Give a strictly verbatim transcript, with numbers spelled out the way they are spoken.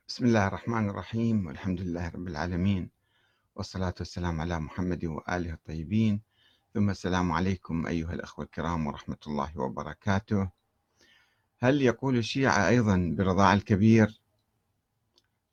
بسم الله الرحمن الرحيم والحمد لله رب العالمين والصلاة والسلام على محمد وآله الطيبين ثم السلام عليكم أيها الأخوة الكرام ورحمة الله وبركاته. هل يقول الشيعة أيضا برضاع الكبير